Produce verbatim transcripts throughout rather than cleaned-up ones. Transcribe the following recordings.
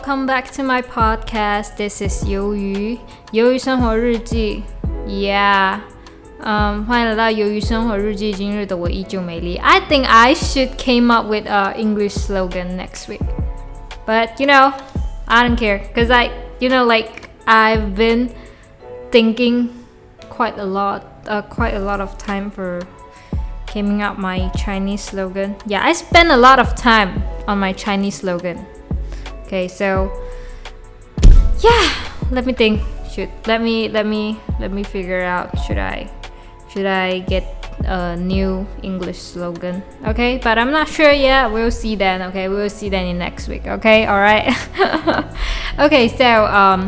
welcome back to my podcast. This is 鱿鱼鱿鱼生活日记 Yeah um, 欢迎来到鱿鱼生活日记今日的我依旧美丽 I think I should came up with an English slogan next week, but you know I don't care because I you know like I've been thinking quite a lot uh, quite a lot of time for coming up my Chinese slogan. Yeah, I spend a lot of time on my Chinese slogan. Okay, so yeah, let me think. Should let me let me let me figure out. Should I should I get a new English slogan? Okay, but I'm not sure yet. We'll see then. Okay, we'll see then in next week. Okay, all right. Okay, so um.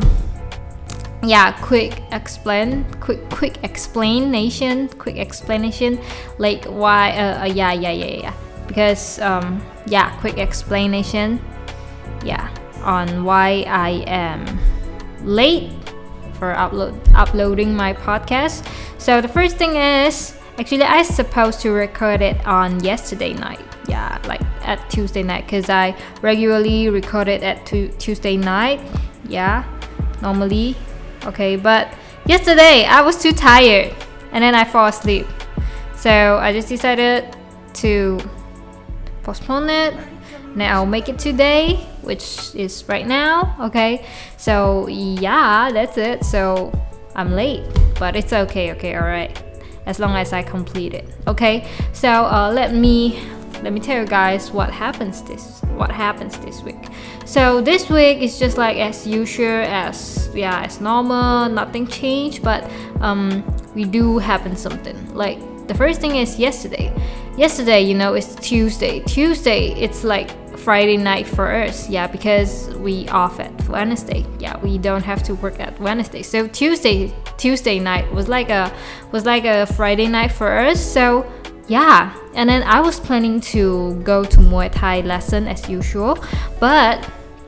Yeah, quick explain, quick quick explanation, quick explanation, like why, uh, uh yeah, yeah, yeah, yeah, because, um, yeah, quick explanation, yeah, on why I am late for upload uploading my podcast. So the first thing is, actually, I supposed to record it on yesterday night, yeah, like at Tuesday night, because I regularly record it at tu- Tuesday night, yeah, normally. Okay, but yesterday I was too tired and then I fall asleep. So I just decided to postpone it. Now I'll make it today, which is right now. Okay, so yeah, that's it. So I'm late, but it's okay. Okay, alright. As long as I complete it. Okay, so uh, let me let me tell you guys what happens this what happens this week. So this week is just like as usual, as yeah, as normal, nothing changed, but um we do happen something. Like the first thing is yesterday. Yesterday, you know, it's Tuesday. Tuesday, it's like Friday night for us, yeah, because we off at Wednesday. Yeah, we don't have to work at Wednesday. So Tuesday Tuesday night was like a was like a Friday night for us. So yeah, and then I was planning to go to Muay Thai lesson as usual, but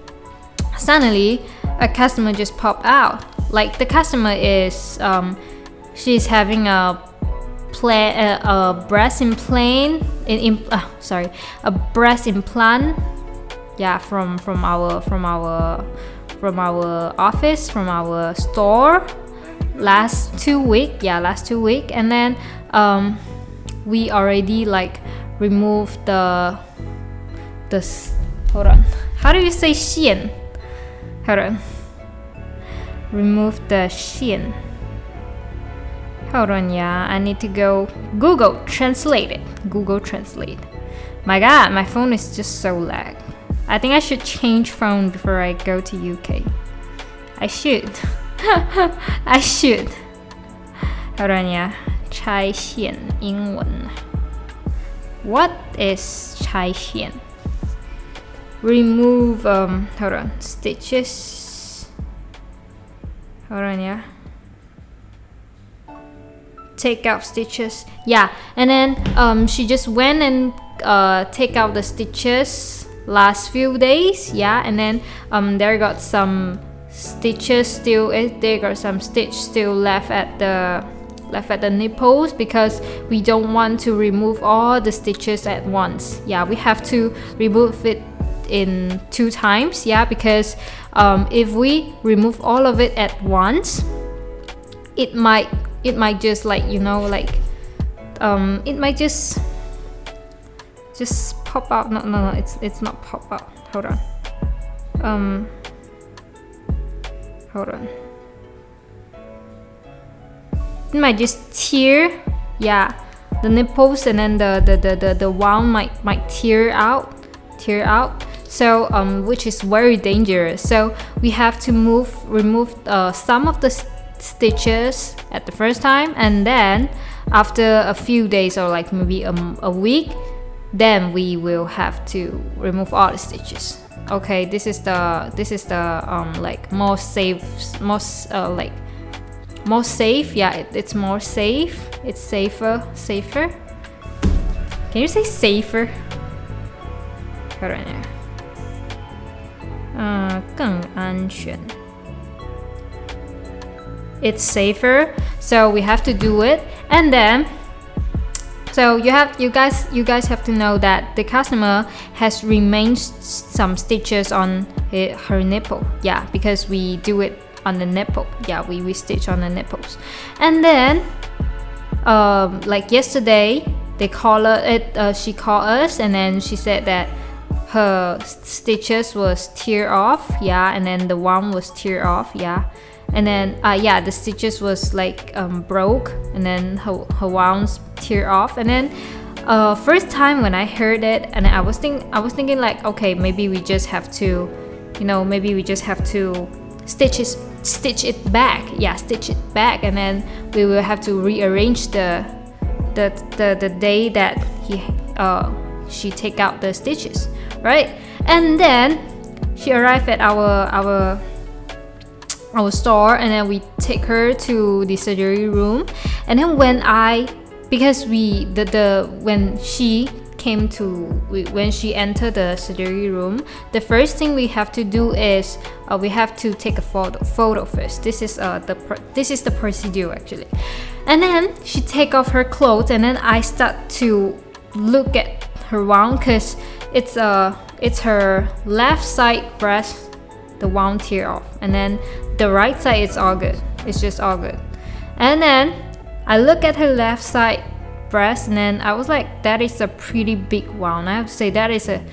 suddenly a customer just popped out. Like the customer is, um, she's having a pla- a, a breast implant, in, in uh, sorry, a breast implant. Yeah, from from our from our from our office, from our store, last two week. Yeah, last two week, and then um. we already like removed the the hold on how do you say 线 hold on remove the 线 hold on yeah I need to go Google Translate it Google Translate. My god, my phone is just so lag. I think I should change phone before I go to U K. I should I should hold on yeah拆线英文 What is 拆线 Remove um hold on stitches hold on yeah take out stitches, yeah, and then um she just went and uh take out the stitches last few days, yeah, and then um there got some stitches still there got some stitch still left at the left at the nipples because we don't want to remove all the stitches at once. Yeah, we have to remove it in two times, yeah, because um, if we remove all of it at once, it might it might just like, you know, like um, it might just just pop out. No, no, no, it's it's not pop out. Hold on. Um, hold on. It might just tear, yeah, the nipples, and then the the, the, the, the wound might might tear out, tear out. So um, which is very dangerous. So we have to move, remove uh, some of the st- stitches at the first time, and then after a few days or like maybe a, a week, then we will have to remove all the stitches. Okay, this is the this is the um like most safe, most uh, like. more safe, yeah, it, it's more safe, it's safer, safer. Can you say safer? Hold on here. 呃，更安全. It's safer, so we have to do it, and then So you have you guys you guys have to know that the customer has remained some stitches on her nipple. Yeah, because we do it on the nipple. Yeah, we, we stitch on the nipples. And then um, like yesterday they call her it uh, she called us, and then she said that her stitches was tear off. Yeah, and then the one was tear off. Yeah, and then uh, yeah, the stitches was like um, broke, and then her, her wounds tear off. And then uh, first time when I heard it, and I was think I was thinking like, okay, maybe we just have to, you know, maybe we just have to stitch it, stitch it back. Yeah, stitch it back, and then we will have to rearrange the the the, the day that he uh, she take out the stitches, right? And then she arrived at our our our store, and then we take her to the surgery room. And then when I because we the the when she came to when she entered the surgery room, the first thing we have to do is uh, we have to take a photo photo first. This is uh the this is the procedure actually. And then she take off her clothes, and then I start to look at her wound, because it's uh it's her left side breast, the wound tear off, and then the right side it's all good. It's just all good. And then I look at her left side breast, and then I was like, that is a pretty big wound. I have to say that is a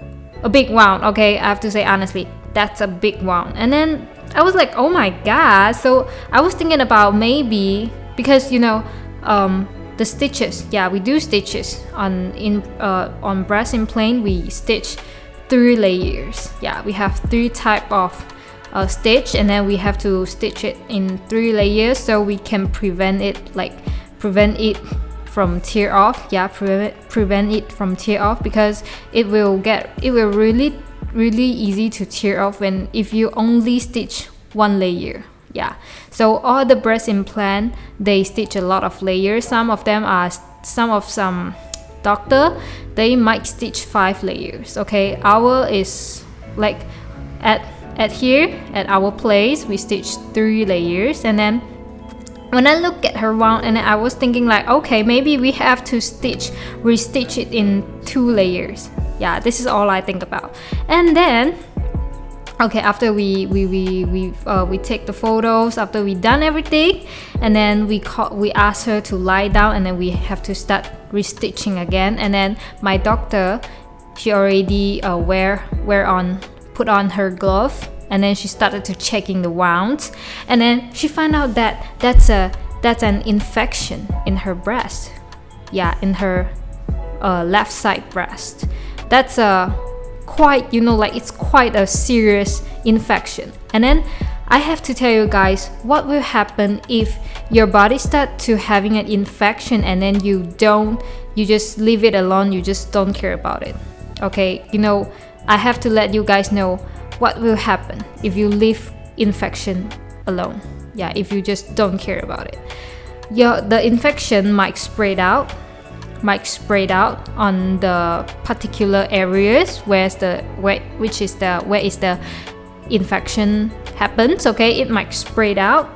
a big wound. Okay, I have to say honestly, that's a big wound. And then I was like, oh my god. So I was thinking about maybe because you know um, the stitches. Yeah, we do stitches on in uh, on breast implant. We stitch three layers. Yeah, we have three type of uh, stitch, and then we have to stitch it in three layers so we can prevent it like prevent it from tear off. Yeah, prevent prevent it from tear off, because it will get it will really really easy to tear off when if you only stitch one layer. Yeah, so all the breast implant, they stitch a lot of layers. Some of them are some of some doctor, they might stitch five layers. Okay, our is like at at here at our place we stitch three layers. And then when I look at her wound, and I was thinking like, okay, maybe we have to stitch restitch it in two layers. Yeah, this is all I think about. And then okay, after we we we we uh, we take the photos, after we done everything, and then we call we ask her to lie down, and then we have to start restitching again. And then my doctor, she already uh, wear wear on put on her glove, and then she started to checking the wounds, and then she found out that that's a that's an infection in her breast. Yeah, in her uh, left side breast. That's a quite, you know, like it's quite a serious infection. And then I have to tell you guys what will happen if your body start to having an infection, and then you don't you just leave it alone, you just don't care about it. Okay, you know, I have to let you guys know what will happen if you leave infection alone. Yeah, if you just don't care about it, your the infection might spread out might spread out on the particular areas where's the where which is the where is the infection happens. Okay, it might spread out,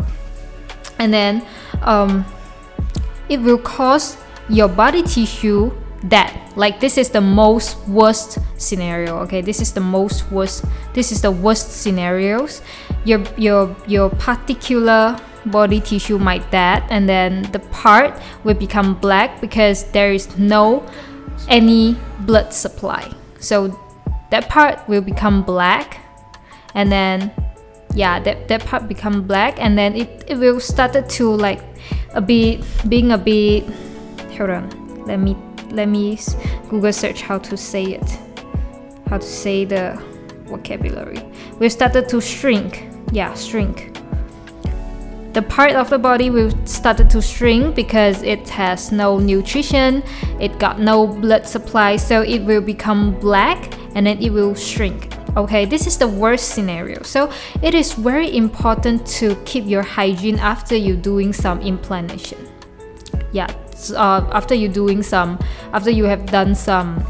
and then um, it will cause your body tissue that, like, this is the most worst scenario. Okay, this is the most worst this is the worst scenarios. Your your your particular body tissue might dead, and then the part will become black because there is no any blood supply. So that part will become black, and then yeah, that, that part become black, and then it, it will start to like a bit being a bit hold on let me let me Google search how to say it how to say the vocabulary. We started to shrink. Yeah, shrink. The part of the body will start to shrink because it has no nutrition, it got no blood supply, so it will become black, and then it will shrink. Okay, this is the worst scenario. So it is very important to keep your hygiene after you doing some implantation. Yeah, uh, after you doing some, after you have done some,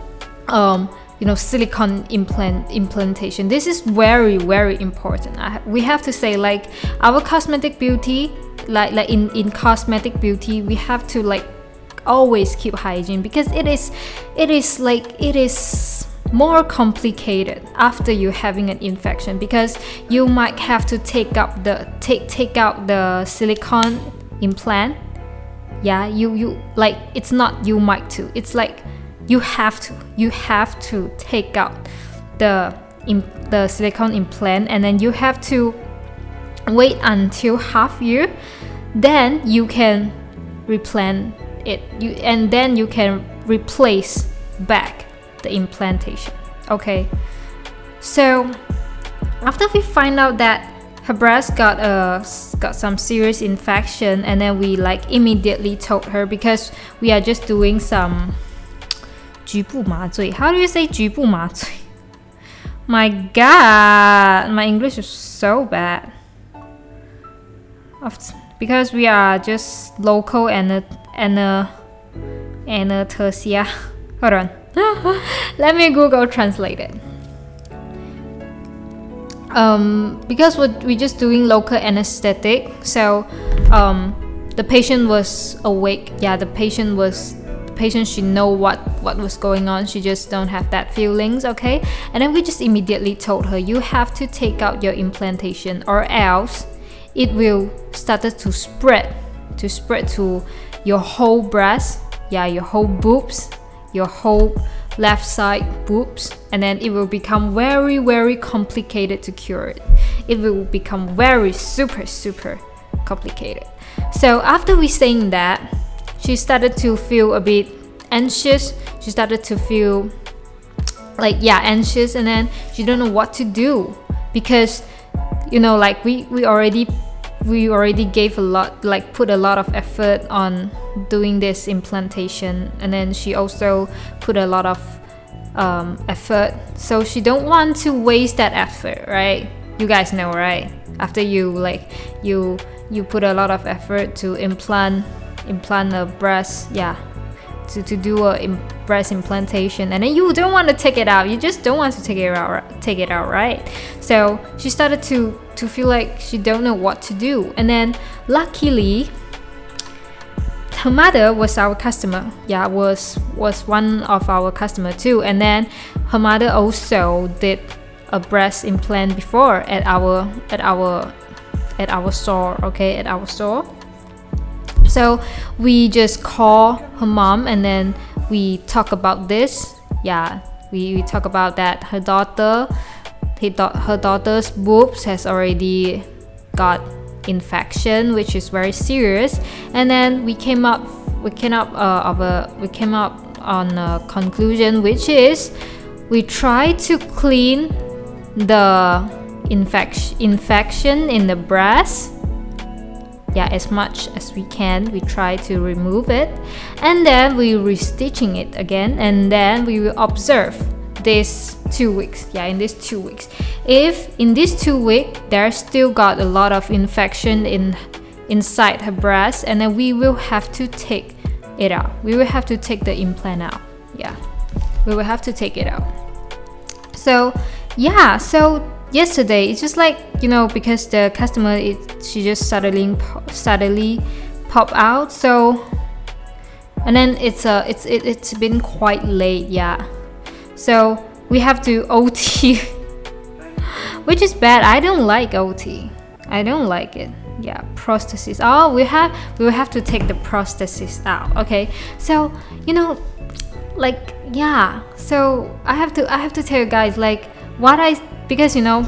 um, you know, silicone implant implantation. This is very very important. I, we have to say, like, our cosmetic beauty, like like in in cosmetic beauty, we have to like always keep hygiene, because it is it is like it is more complicated after you having an infection, because you might have to take up the take take out the silicone implant. Yeah, you you like it's not you might to, it's like you have to you have to take out the the silicone implant, and then you have to wait until half year, then you can replant it, you and then you can replace back the implantation. Okay, so after we find out that her breast got a got some serious infection, and then we like immediately told her, because we are just doing some 局部麻醉. How do you say 局部麻醉? My God, my English is so bad. Because we are just local and and anesthesia. Hold on. Let me Google translate it. Um, because we're, we're just doing local anesthetic, so um, the patient was awake. Yeah, the patient was the patient should know what what was going on. She just don't have that feelings, okay? And then we just immediately told her, you have to take out your implantation, or else it will start to spread to spread to your whole breast. Yeah, your whole boobs, your whole left side boobs, and then it will become very very complicated to cure it. It will become very super super complicated. So after we saying that, she started to feel a bit anxious. She started to feel like yeah anxious, and then she don't know what to do, because you know like we we already we already gave a lot, like put a lot of effort on doing this implantation, and then she also put a lot of um, effort, so she don't want to waste that effort, right? You guys know, right? After you like you you put a lot of effort to implant implant a breast, yeah, to, to do a im- breast implantation, and then you don't want to take it out, you just don't want to take it out take it out right? So she started to to feel like she don't know what to do, and then luckily her mother was our customer. Yeah, was was one of our customer too, and then her mother also did a breast implant before at our at our at our store, okay, at our store. So we just call her mom, and then we talk about this. Yeah, we, we talk about that her daughter, her daughter's boobs has already got infection, which is very serious. And then we came up, we came up uh, of a, we came up on a conclusion, which is we try to clean the infection infection in the breast. Yeah, as much as we can, we try to remove it, and then we restitching it again, and then we will observe this two weeks. Yeah, in these two weeks, if in these two weeks there's still got a lot of infection in inside her breast, and then we will have to take it out. We will have to take the implant out. Yeah, we will have to take it out. So yeah, so yesterday it's just like, you know, because the customer it, she just suddenly suddenly pop out, so and then it's a it's it, it's been quite late. Yeah, so we have to O T which is bad. I don't like O T. I don't like it. Yeah, prosthesis. Oh, we have we will have to take the prosthesis out. Okay, so you know, like yeah, so I have to I have to tell you guys like what I because you know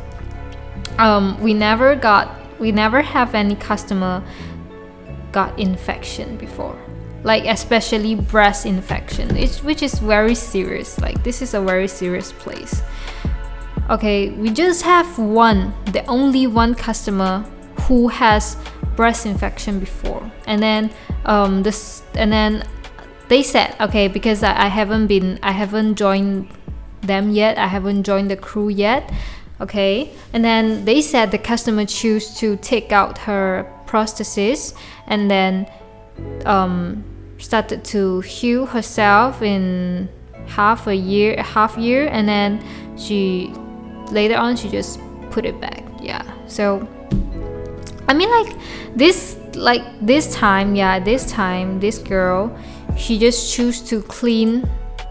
um we never got we never have any customer got infection before, like especially breast infection, it's, which is very serious. Like this is a very serious place. Okay, we just have one, the only one customer who has breast infection before, and then um this and then they said, okay, because I, I haven't been I haven't joined them yet, I haven't joined the crew yet, okay, and then they said the customer choose to take out her prosthesis and then um started to heal herself in half a year half year and then she later on she just put it back. Yeah, so I mean like this like this time yeah this time this girl, she just choose to clean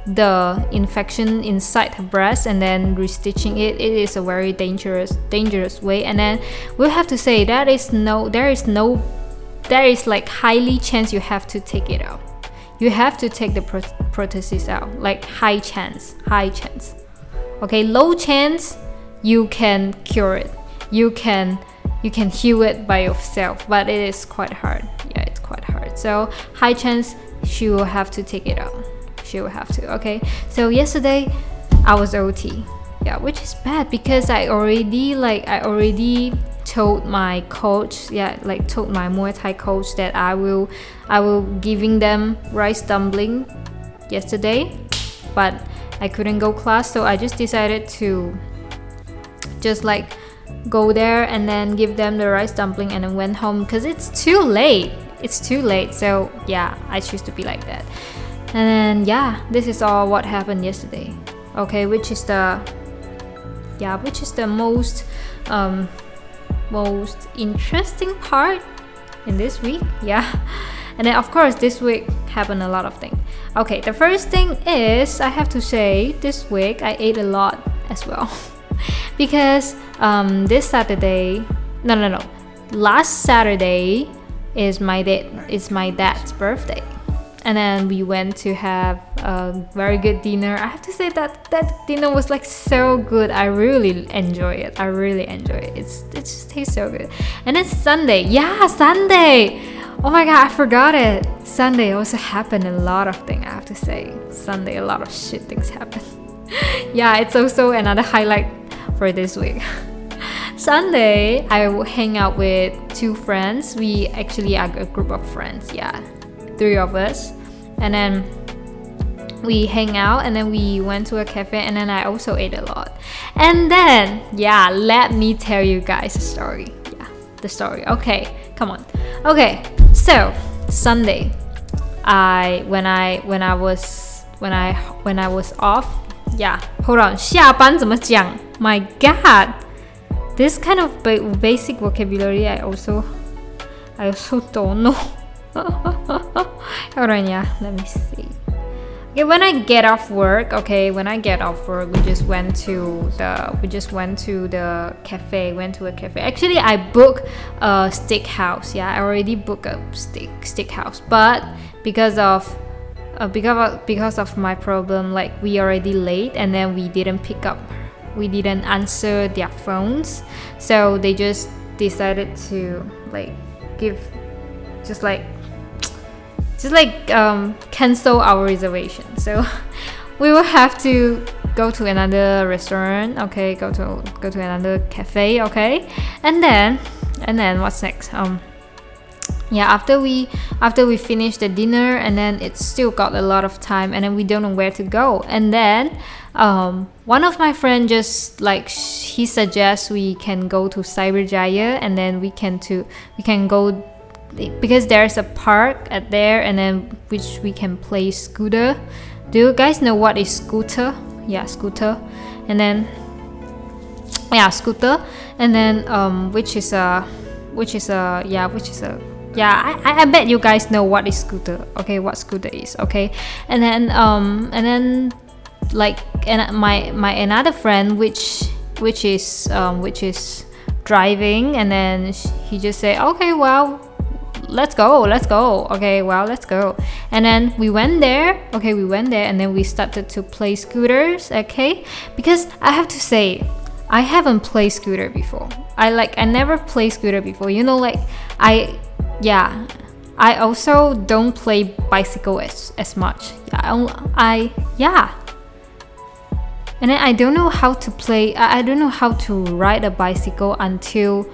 the infection inside her breast and then restitching it. It is a very dangerous dangerous way, and then we'll have to say that is no there is no there is like highly chance you have to take it out. You have to take the pro- prosthesis out, like high chance high chance okay. Low chance you can cure it, you can you can heal it by yourself, but it is quite hard. Yeah, it's quite hard. So high chance she will have to take it out. She will have to. Okay, so yesterday I was O T. Yeah, which is bad because I already like I already told my coach, yeah, like told my Muay Thai coach that I will I will giving them rice dumpling yesterday, but I couldn't go class, so I just decided to just like go there and then give them the rice dumpling and then went home because it's too late. It's too late. So yeah, I choose to be like that. And then yeah, this is all what happened yesterday. Okay, which is the yeah, which is the most um most interesting part in this week. Yeah. And then of course this week happened a lot of things. Okay, the first thing is I have to say this week I ate a lot as well. Because um this Saturday no no no last Saturday is my dad is my dad's birthday. And then we went to have a very good dinner. I have to say that that dinner was like so good. I really enjoy it. I really enjoy it. It's it just tastes so good. And then Sunday, yeah, Sunday. Oh my god, I forgot it. Sunday also happened a lot of things. I have to say, Sunday a lot of shit things happened. Yeah, it's also another highlight for this week. Sunday, I will hang out with two friends. We actually are a group of friends. Yeah. Three of us, and then we hang out, and then we went to a cafe, and then I also ate a lot. And then yeah, let me tell you guys a story. Yeah, the story. Okay, come on. Okay, so Sunday, I when I when I was when I when I was off. Yeah, hold on. 下班怎么讲? My God, this kind of ba- basic vocabulary I also I also don't know. Hold on, yeah, let me see. Okay, when I get off work, okay, when I get off work, we just went to the we just went to the cafe, went to a cafe. Actually, I booked a steakhouse. Yeah, I already booked a steak steakhouse, but because of uh, because of, because of my problem, like we already late, and then we didn't pick up, we didn't answer their phones, so they just decided to like give, just like. Just like um, cancel our reservation, so we will have to go to another restaurant. Okay, go to go to another cafe. Okay, and then and then what's next? Um, yeah, after we after we finish the dinner, and then it's still got a lot of time, and then we don't know where to go. And then um, one of my friends just like he suggests we can go to Cyberjaya, and then we can to we can go. Because there's a park at there, and then which we can play scooter. Do you guys know what is scooter? Yeah, scooter. And then yeah, scooter. And then um, which is a, which is a yeah, which is a yeah. I I bet you guys know what is scooter. Okay, what scooter is. Okay, and then um, and then like and my my another friend which which is um, which is driving, and then he just say, okay, well. Let's go, let's go. Okay, well, let's go. And then we went there. Okay, we went there, and then we started to play scooters. Okay, because I have to say, I haven't played scooter before. I like I never played scooter before. You know, like I, yeah. I also don't play bicycle as as much. Yeah, I, I yeah. And then I don't know how to play. I, I don't know how to ride a bicycle until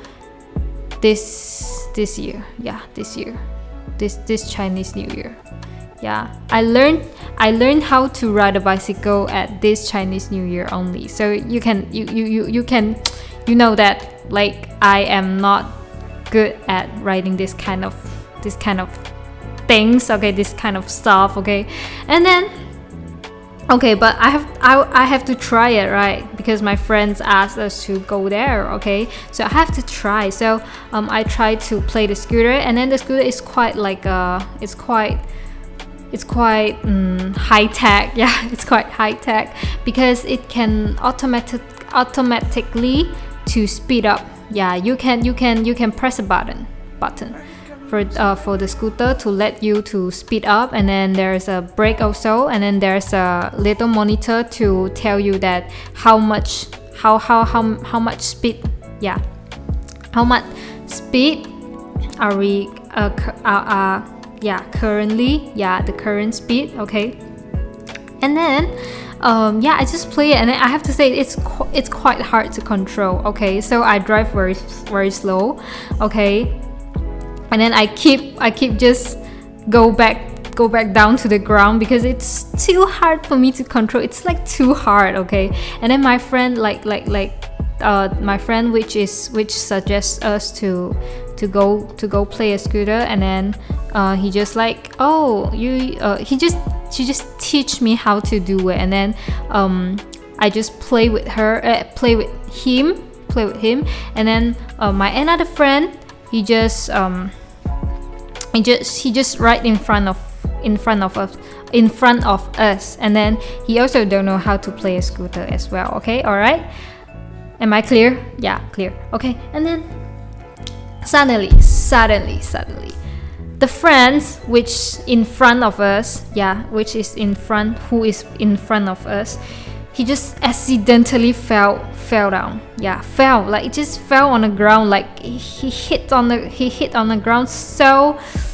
this. This year, yeah, this year, this this Chinese New Year, yeah. I learned I learned how to ride a bicycle at this Chinese New Year only. So you can you you you, you can you know that like I am not good at riding this kind of this kind of things. Okay, this kind of stuff. Okay, and then. Okay, but I have I, I have to try it, right? Because my friends asked us to go there, okay? So I have to try. So um, I tried to play the scooter, and then the scooter is quite like uh, it's quite it's quite um, high tech. Yeah, it's quite high tech because it can automatic automatically to speed up. Yeah, you can you can you can press a button button for uh, for the scooter to let you to speed up, and then there's a brake also, and then there's a little monitor to tell you that how much how how how, how much speed yeah how much speed are we uh, uh, uh yeah currently yeah the current speed. Okay, and then um yeah I just play it, and then I have to say it's qu- it's quite hard to control. Okay, so I drive very very slow. Okay, and then I keep I keep just go back go back down to the ground because it's too hard for me to control. It's like too hard. Okay, and then my friend like like like uh my friend which is which suggests us to to go to go play a scooter, and then uh he just like oh you uh he just she just teach me how to do it, and then um I just play with her uh, play with him play with him and then uh, my another friend he just um he just he just right in front of in front of us in front of us and then he also don't know how to play a scooter as well. Okay, all right, am I clear? Yeah, clear. Okay, and then suddenly suddenly suddenly the friends which in front of us yeah which is in front who is in front of us, he just accidentally fell fell down. Yeah, fell like it just fell on the ground, like he hit on the he hit on the ground so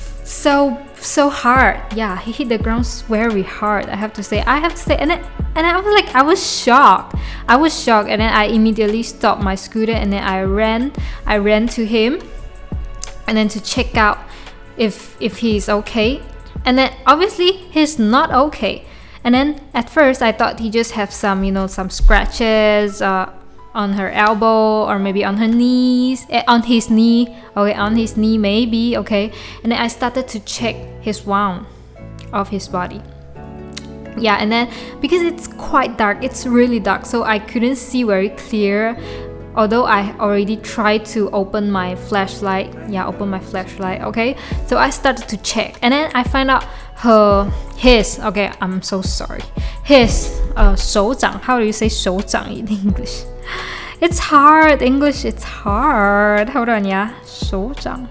so so hard. Yeah, he hit the ground very hard, I have to say I have to say and then and I was like I was shocked I was shocked and then I immediately stopped my scooter, and then I ran I ran to him and then to check out if if he's okay, and then obviously he's not okay. And then at first I thought he just have some you know some scratches uh, on her elbow or maybe on her knees eh, on his knee. Okay, on his knee maybe. Okay, and then I started to check his wound of his body. Yeah, and then because it's quite dark, it's really dark, so I couldn't see very clear, although I already tried to open my flashlight. Yeah, open my flashlight. Okay, so I started to check, and then I find out her his okay I'm so sorry his uh 手掌 how do you say 手掌 in English? It's hard English it's hard hold on. Yeah, 手掌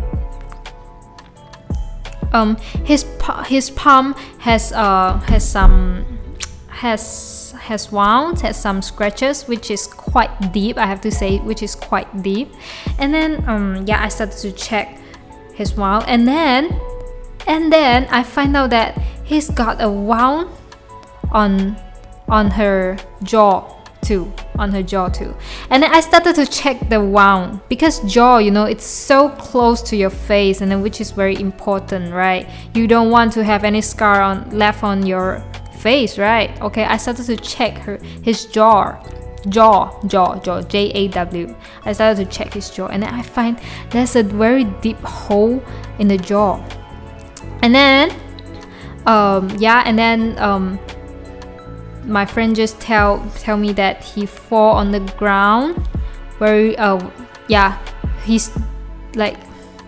um his his palm has uh has some has has wounds, has some scratches, which is quite deep, I have to say, which is quite deep. And then um yeah I started to check his wound, and then and then I find out that he's got a wound on on her jaw too on her jaw too. And then I started to check the wound because jaw, you know, it's so close to your face, and then which is very important, right? You don't want to have any scar on left on your face, right? Okay, I started to check her his jaw jaw jaw jaw J A W. I started to check his jaw, and then I find there's a very deep hole in the jaw. And then um yeah and then um my friend just tell tell me that he fall on the ground very uh yeah he's like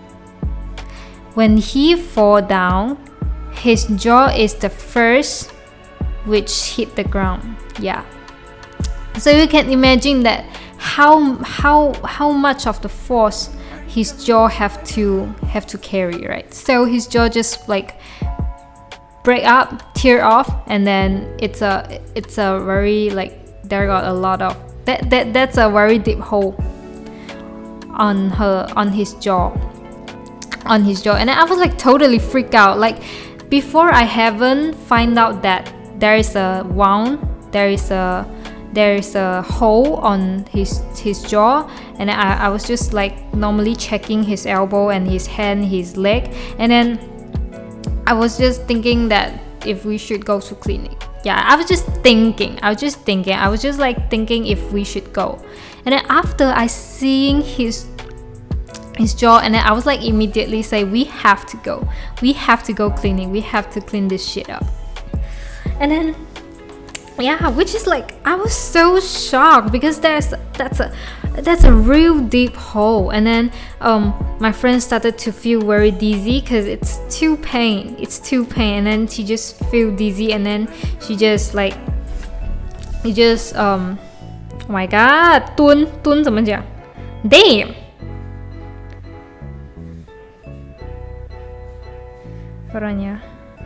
when he fall down, his jaw is the first which hit the ground. Yeah, so you can imagine that how how how much of the force his jaw have to have to carry, right? So his jaw just like break up, tear off, and then it's a it's a very like there got a lot of that that that's a very deep hole on her on his jaw on his jaw. And I was like totally freaked out. Like before I haven't find out that there is a wound, there is a there is a hole on his his jaw, and I, I was just like normally checking his elbow and his hand, his leg, and then I was just thinking that if we should go to clinic. Yeah, I was just thinking I was just thinking I was just like thinking if we should go. And then after I seeing his his jaw, and then I was like immediately say we have to go we have to go clinic, we have to clean this shit up. And then yeah, which is like I was so shocked because there's that's a that's a real deep hole. And then um my friend started to feel very dizzy because it's too pain it's too pain and then she just feel dizzy, and then she just like she just um oh my god 蹲蹲怎么讲 damn 不然呀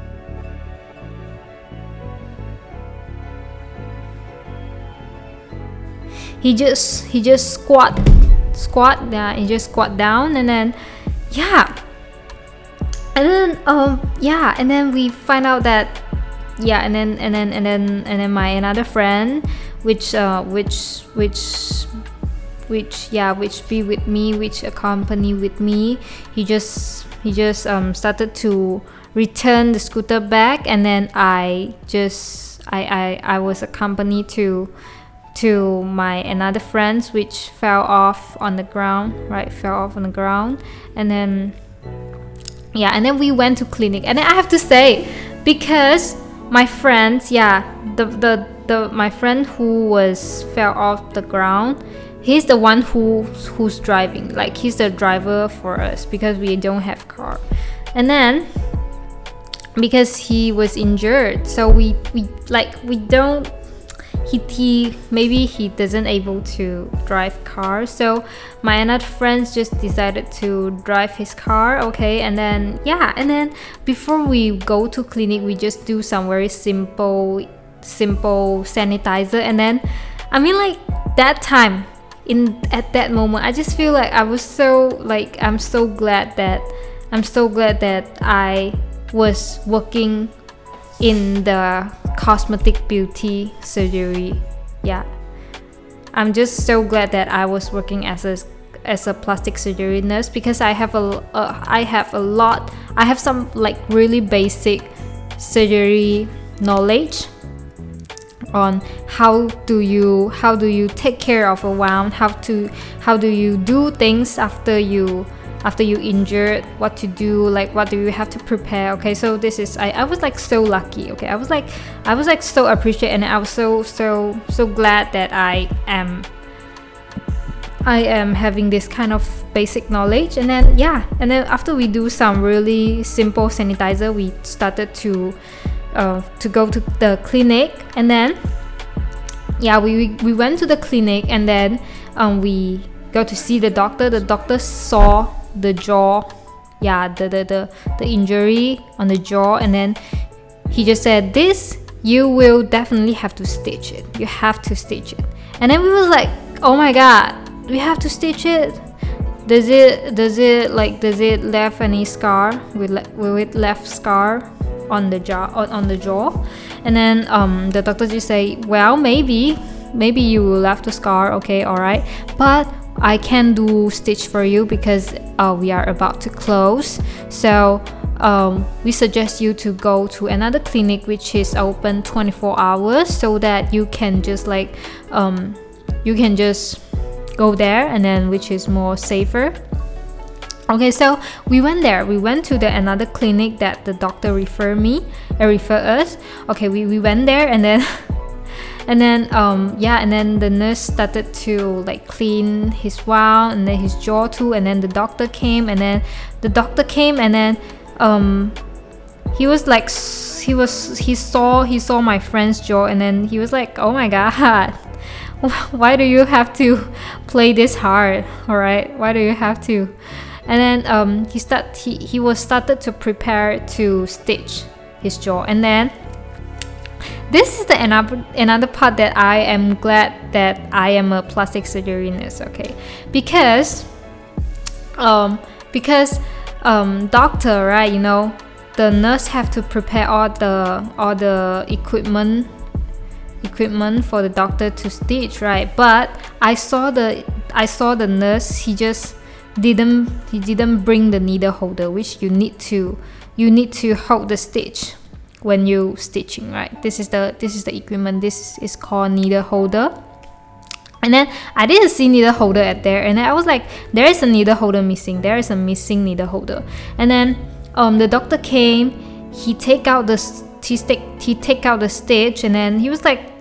He just he just squat squat yeah he just squat down, and then yeah and then um yeah and then we find out that yeah and then and then and then and then my another friend which uh which which which yeah which be with me which accompany with me he just he just um started to return the scooter back, and then I just I I, I was accompanied to to my another friends which fell off on the ground right fell off on the ground and then yeah and then we went to clinic. And then I have to say, because my friends yeah the the, the my friend who was fell off the ground, he's the one who who's driving, like he's the driver for us because we don't have car. And then because he was injured, so we we like we don't He, he maybe he doesn't able to drive car, so my another friends just decided to drive his car. Okay, and then yeah and then before we go to clinic, we just do some very simple simple sanitizer. And then I mean, like that time in at that moment, I just feel like I was so like I'm so glad that I'm so glad that I was working in the cosmetic beauty surgery. Yeah, I'm just so glad that I was working as a as a plastic surgery nurse, because I have a uh, I have a lot I have some like really basic surgery knowledge on how do you how do you take care of a wound, how to how do you do things after you after you injured, what to do, like what do you have to prepare. Okay, so this is I, I was like so lucky. Okay, I was like I was like so appreciative, and I was so so so glad that I am I am having this kind of basic knowledge. And then yeah and then after we do some really simple sanitizer, we started to uh, to go to the clinic. And then yeah we we went to the clinic, and then um, we go to see the doctor. The doctor saw the jaw yeah the, the the the injury on the jaw, and then he just said, this you will definitely have to stitch it you have to stitch it. And then we were like, oh my god, we have to stitch it. Does it does it like does it left any scar will, will it left scar on the jaw on, on the jaw? And then um the doctor just say, well, maybe maybe you will left the scar. Okay, all right, but I can do stitch for you because uh, we are about to close. So um, we suggest you to go to another clinic which is open twenty-four hours, so that you can just like um, you can just go there, and then which is more safer. Okay, so we went there. We went to the another clinic that the doctor refer me, uh, refer us. Okay, we, we went there, and then and then um yeah and then the nurse started to like clean his wound and then his jaw too. And then the doctor came, and then the doctor came, and then um he was like he was he saw he saw my friend's jaw, and then he was like, oh my god, why do you have to play this hard? All right, why do you have to? And then um he start he, he was started to prepare to stitch his jaw. And then this is the another another part that I am glad that I am a plastic surgery nurse. Okay, because um because um doctor, right, you know, the nurse have to prepare all the all the equipment equipment for the doctor to stitch, right? But I saw the I saw the nurse, he just didn't he didn't bring the needle holder, which you need to you need to hold the stitch when you stitching, right? This is the this is the equipment. This is called needle holder. And then I didn't see needle holder at there, and then I was like, there is a needle holder missing. There is a missing needle holder. And then um the doctor came. He take out the he take he take out the stitch, and then he was like,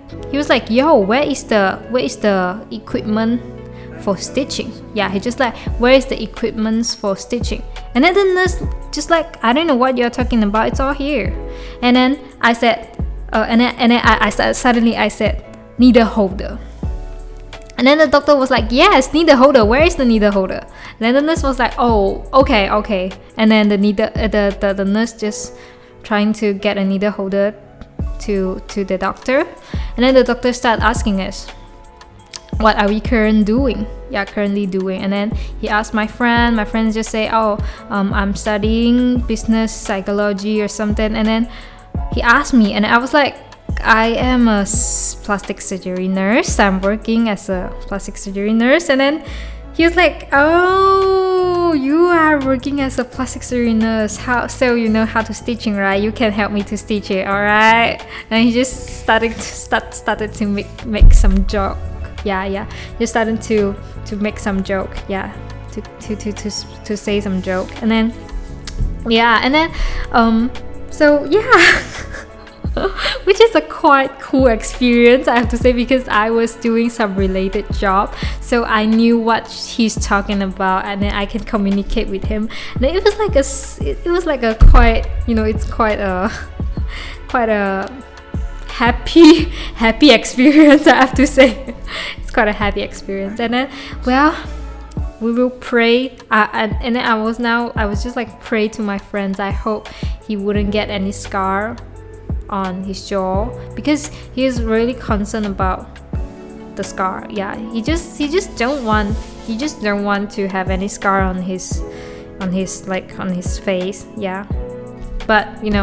he was like, yo, where is the where is the equipment for stitching? Yeah, he just like, where is the equipment for stitching? And then the nurse just like, I don't know what you're talking about, it's all here. And then I said, uh, and then, and then I, I said, suddenly I said, needle holder. And then the doctor was like, yes, needle holder, where is the needle holder? And then the nurse was like, oh, okay, okay. And then the needle, uh, the, the, the nurse just trying to get a needle holder to, to the doctor. And then the doctor started asking us, what are we current doing? Yeah, currently doing. And then he asked my friend. My friends just say, oh, um, I'm studying business psychology or something. And then he asked me, and I was like, I am a plastic surgery nurse. I'm working as a plastic surgery nurse. And then he was like, oh, you are working as a plastic surgery nurse. How so you know how to stitching, right? You can help me to stitch it, all right? And he just started to start started to make make some joke. Yeah, yeah. He started to to make some joke. Yeah, to to to to to say some joke. And then yeah, and then um, so yeah. Which is a quite cool experience, I have to say, because I was doing some related job, so I knew what he's talking about, and then I can communicate with him. And it was like a, it was like a quite, you know, it's quite a, quite a happy, happy experience, I have to say. It's quite a happy experience. And then, well, we will pray. Uh, and, and then I was now, I was just like pray to my friends. I hope he wouldn't get any scar on his jaw, because he is really concerned about the scar. Yeah, he just he just don't want he just don't want to have any scar on his on his like on his face. Yeah, but you know,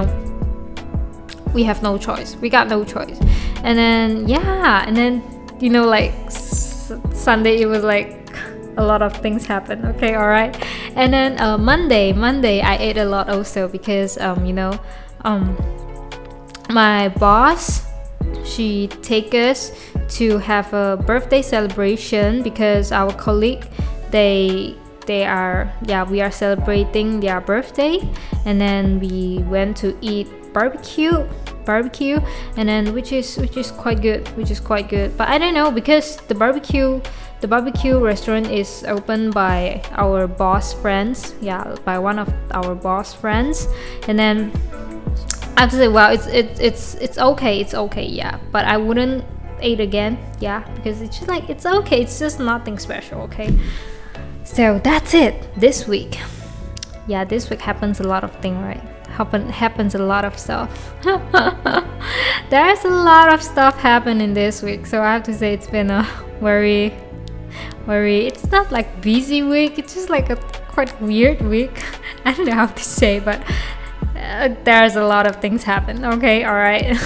we have no choice. We got no choice. And then yeah, and then you know, like s- Sunday, it was like a lot of things happened. Okay, all right. And then uh, Monday, Monday I ate a lot also, because um you know um. my boss, she take us to have a birthday celebration, because our colleague, they they are yeah we are celebrating their birthday. And then we went to eat barbecue barbecue and then which is which is quite good which is quite good but I don't know, because the barbecue the barbecue restaurant is opened by our boss friends yeah by one of our boss friends. And then I have to say, well, it's it's it's it's okay, it's okay, yeah. But I wouldn't eat again, yeah, because it's just like it's okay, it's just nothing special, okay. So that's it this week. Yeah, this week happens a lot of things, right? Happen happens a lot of stuff. There's a lot of stuff happening this week, so I have to say it's been a very, very. It's not like busy week. It's just like a quite weird week. I don't know how to say, but. Uh, there's a lot of things happen. Okay, all right.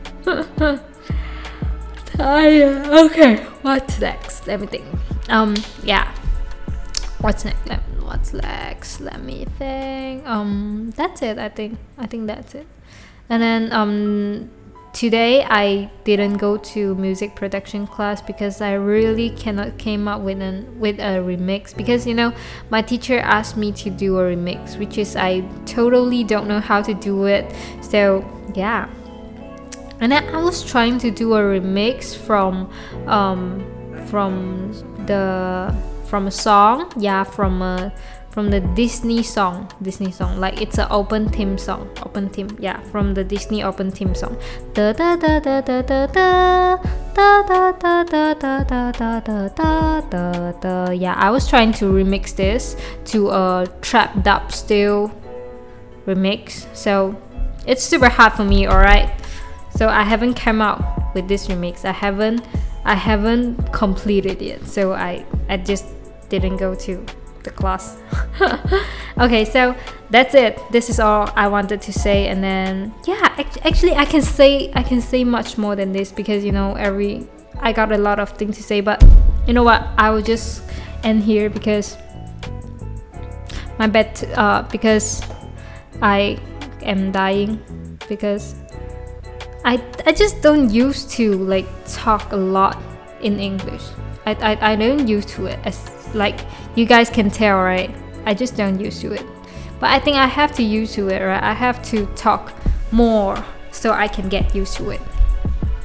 uh, okay, what's next? Let me think. Um, yeah. What's next? Let, what's next? Let me think. Um, that's it. I think. I think that's it. And then um, today I didn't go to music production class because I really cannot came up with an with a remix, because you know my teacher asked me to do a remix, which is I totally don't know how to do it. So yeah, and then I was trying to do a remix from um from the from a song yeah from a from the Disney song Disney song like it's an open theme song open theme yeah from the Disney open theme song da da da da da da da da da da da da da da da da da. Yeah, I was trying to remix this to a trap dub style remix, so it's super hard for me, alright. So I haven't come out with this remix. I haven't I haven't completed it, so I I just didn't go to the class. Okay, so that's it. This is all I wanted to say. And then yeah, actually I can say I can say much more than this, because you know every I got a lot of things to say, but you know what, I will just end here because my bed uh because I am dying, because I I just don't used to like talk a lot in English. I I, I don't used to it, as like you guys can tell, right? I just don't used to it. But I think I have to used to it, right? I have to talk more so I can get used to it.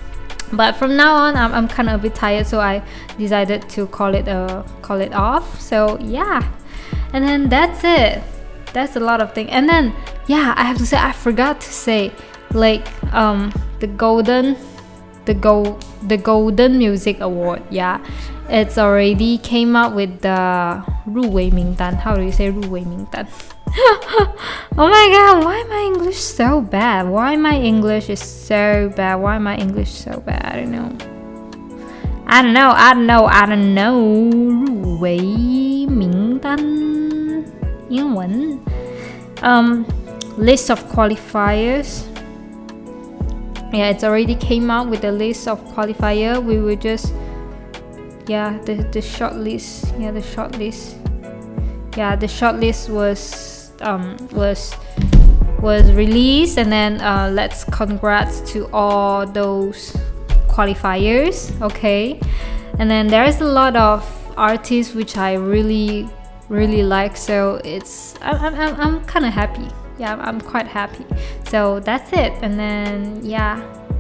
But from now on, I'm, I'm kind of a bit tired, so I decided to call it uh call it off. So yeah, and then that's it. That's a lot of things. And then yeah, I have to say I forgot to say like um the golden the gold the golden music award. Yeah, it's already came out with the 入围名单. How do you say 入围名单? Oh my god, why my English so bad? Why my English is so bad? Why my English so bad? I don't know. I don't know, I don't know, I don't know. 入围名单英文 Um, list of qualifiers. Yeah, it's already came out with the list of qualifier. We will just yeah, the, the short list. Yeah, the short list. Yeah, the short list was um was was released, and then uh, let's congrats to all those qualifiers. Okay, and then there's a lot of artists which I really really like, so it's I'm I'm I'm kind of happy. Yeah, I'm, I'm quite happy. So that's it, and then yeah.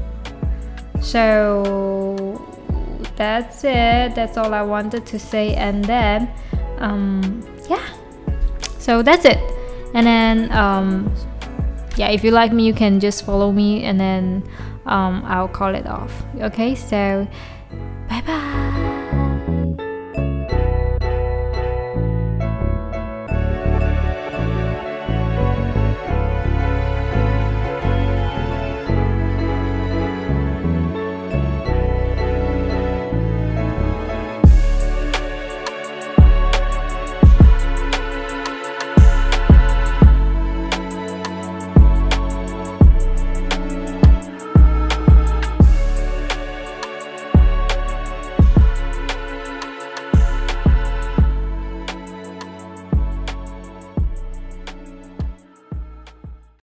So that's it. That's all I wanted to say, and then um yeah. So that's it. And then um yeah, if you like me, you can just follow me, and then um I'll call it off. Okay, so bye bye.